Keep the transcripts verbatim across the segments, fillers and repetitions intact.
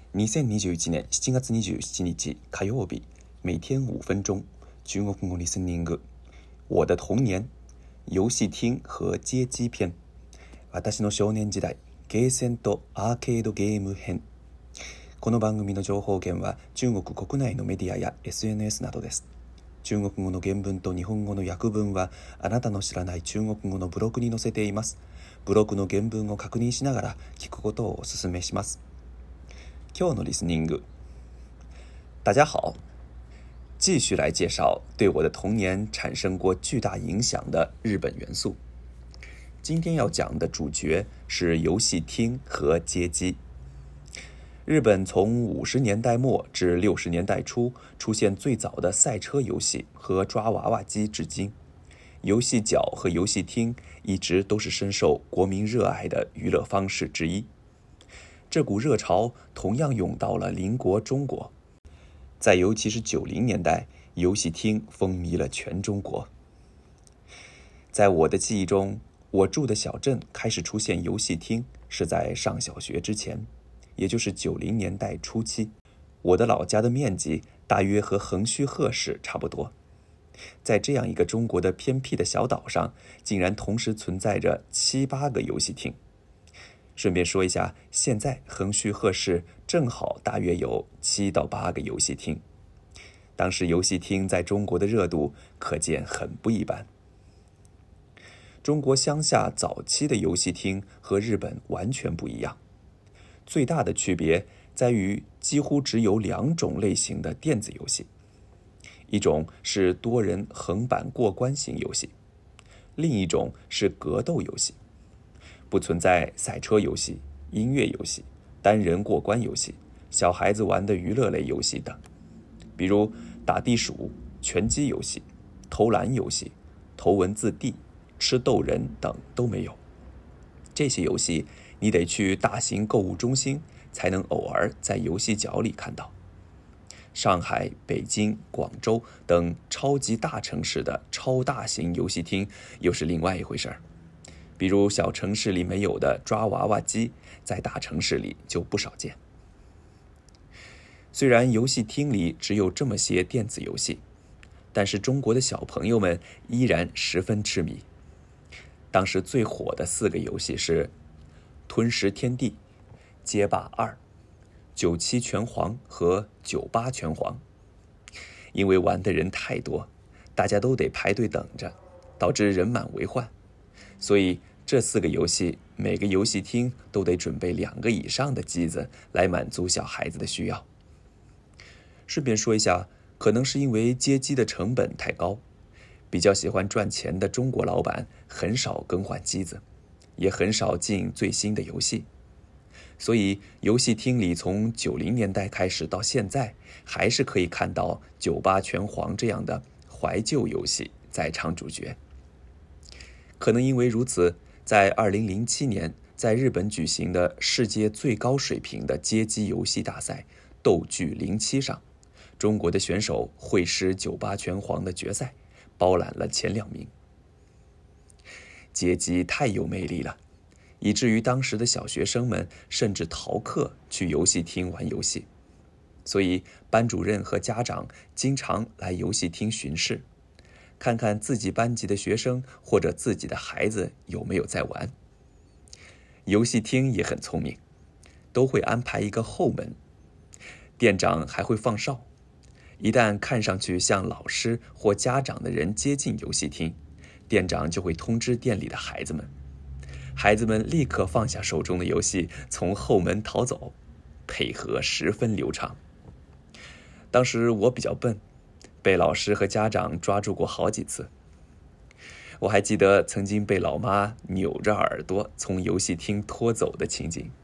にせんにじゅういちねんしちがつにじゅうしちにち火曜日，每天五分钟，中国語リスニング。我的童年，遊戲厅和街機篇。私の少年時代、ゲーセンとアーケードゲーム編。この番組の情報源は中国国内のメディアや エスエヌエス などです。中国語の原文と日本語の訳文はあなたの知らない中国語のブログに載せています。ブログの原文を確認しながら聞くことをお勧めします。今日のリスニング。大家好，继续来介绍对我的童年产生过巨大影响的日本元素。今天要讲的主角是游戏厅和街机。日本从五十年代末至六十年代初出现最早的赛车游戏和抓娃娃机至今，游戏角和游戏厅一直都是深受国民热爱的娱乐方式之一。这股热潮同样涌到了邻国中国，在尤其是九零年代，游戏厅风靡了全中国。在我的记忆中，我住的小镇开始出现游戏厅是在上小学之前，也就是九零年代初期。我的老家的面积大约和横须贺市差不多，在这样一个中国的偏僻的小岛上，竟然同时存在着七八个游戏厅。顺便说一下，现在横须贺市正好大约有七到八个游戏厅。当时游戏厅在中国的热度可见很不一般。中国乡下早期的游戏厅和日本完全不一样，最大的区别在于几乎只有两种类型的电子游戏，一种是多人横版过关型游戏，另一种是格斗游戏。不存在赛车游戏、音乐游戏、单人过关游戏、小孩子玩的娱乐类游戏等，比如打地鼠、拳击游戏、投篮游戏、头文字 D、吃豆人等都没有。这些游戏你得去大型购物中心才能偶尔在游戏角里看到。上海、北京、广州等超级大城市的超大型游戏厅又是另外一回事儿。比如小城市里没有的抓娃娃机，在大城市里就不少见。虽然游戏厅里只有这么些电子游戏，但是中国的小朋友们依然十分痴迷。当时最火的四个游戏是吞食天地、街霸二、九七拳皇和九八拳皇。因为玩的人太多，大家都得排队等着，导致人满为患。所以这四个游戏每个游戏厅都得准备两个以上的机子来满足小孩子的需要。顺便说一下，可能是因为街机的成本太高，比较喜欢赚钱的中国老板很少更换机子，也很少进最新的游戏，所以游戏厅里从九零年代开始到现在，还是可以看到九八拳皇这样的怀旧游戏在场主角。可能因为如此，在二零零七年在日本举行的世界最高水平的街机游戏大赛斗剧零七上，中国的选手会师九八拳皇的决赛，包揽了前两名。街机太有魅力了，以至于当时的小学生们甚至逃课去游戏厅玩游戏，所以班主任和家长经常来游戏厅巡视，看看自己班级的学生或者自己的孩子有没有在玩。游戏厅也很聪明，都会安排一个后门，店长还会放哨，一旦看上去像老师或家长的人接近游戏厅，店长就会通知店里的孩子们，孩子们立刻放下手中的游戏，从后门逃走，配合十分流畅。当时我比较笨，被老师和家长抓住过好几次。我还记得曾经被老妈扭着耳朵从游戏厅拖走的情景。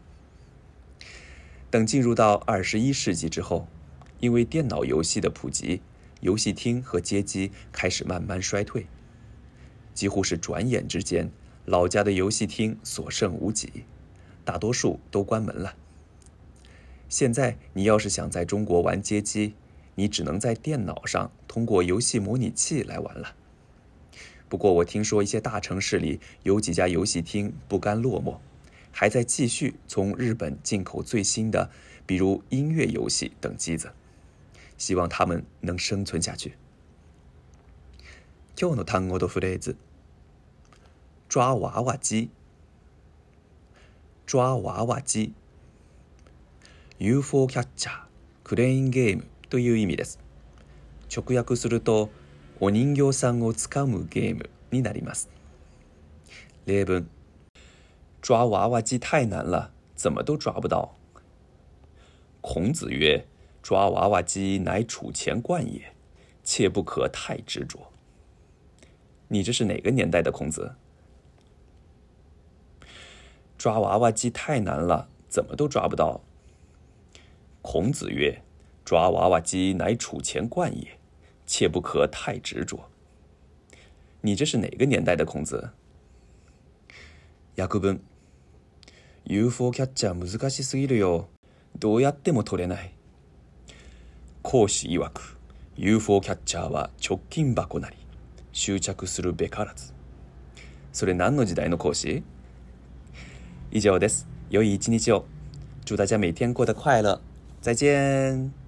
等进入到二十一世纪之后，因为电脑游戏的普及，游戏厅和街机开始慢慢衰退，几乎是转眼之间，老家的游戏厅所剩无几，大多数都关门了。现在你要是想在中国玩街机，你只能在电脑上通过游戏模拟器来玩了。不过我听说一些大城市里有几家游戏厅不甘落寞， 还在继续从日本进口最新的，比如音乐游戏等机子，希望它们能生存下去。今日の単語とフレーズ。抓娃娃機。抓娃娃機。ユーフォー キャッチャー、クレーンゲームという意味です。直訳すると、お人形さんをつかむゲームになります。例文。抓娃娃机太难了，怎么都抓不到。孔子曰：抓娃娃机乃储钱罐也，切不可太执着。你这是哪个年代的孔子？抓娃娃机太难了，怎么都抓不到。孔子曰：抓娃娃机乃储钱罐也，切不可太执着。你这是哪个年代的孔子？訳文。ユーフォー キャッチャー難しすぎるよ。どうやっても取れない。講師曰く、ユーフォー キャッチャーは直近箱なり、執着するべからず。それ何の時代の講師？以上です。良い一日を。祝大家每天过得快乐。再见。